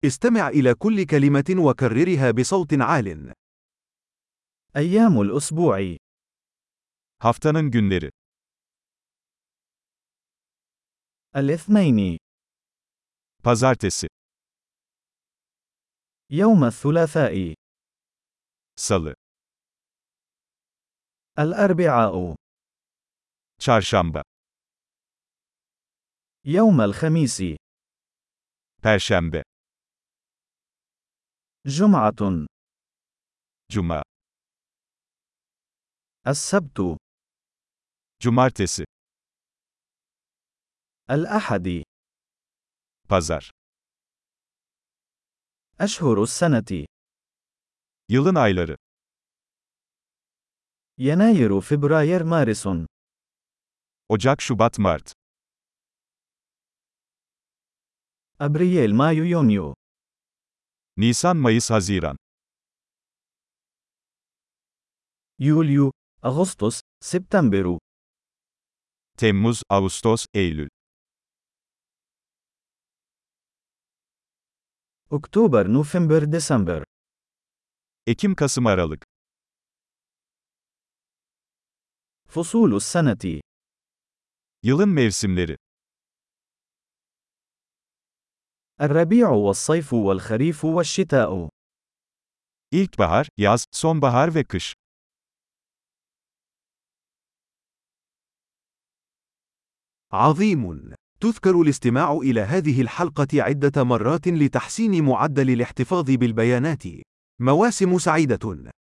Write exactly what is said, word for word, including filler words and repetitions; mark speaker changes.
Speaker 1: استمع إلى كل كلمة وكررها بصوت عال.
Speaker 2: أيام الأسبوع.
Speaker 3: Haftanın günleri.
Speaker 2: الاثنين.
Speaker 3: Pazartesi,
Speaker 2: يوم الثلاثاء.
Speaker 3: Salı,
Speaker 2: الأربعاء.
Speaker 3: Çarşamba,
Speaker 2: يوم الخميس.
Speaker 3: Perşembe,
Speaker 2: جمعة.
Speaker 3: Cuma,
Speaker 2: السبت.
Speaker 3: Cumartesi,
Speaker 2: الأحد.
Speaker 3: Pazar.
Speaker 2: أشهر السنة.
Speaker 3: Yılın ayları.
Speaker 2: يناير فبراير مارس.
Speaker 3: Ocak, Şubat, Mart.
Speaker 2: أبريل مايو يونيو.
Speaker 3: Nisan, Mayıs, Haziran.
Speaker 2: يوليو أغسطس سبتمبر.
Speaker 3: Temmuz, Ağustos, Eylül.
Speaker 2: أكتوبر نوفمبر ديسمبر.
Speaker 3: Ekim, Kasım, Aralık.
Speaker 2: فصول السنة.
Speaker 3: Yılın mevsimleri.
Speaker 2: الربيع والصيف والخريف والشتاء.
Speaker 3: İlkbahar, yaz, sonbahar ve kış.
Speaker 1: عظيم. تذكر الاستماع إلى هذه الحلقة عدة مرات لتحسين معدل الاحتفاظ بالبيانات. مواسم سعيدة.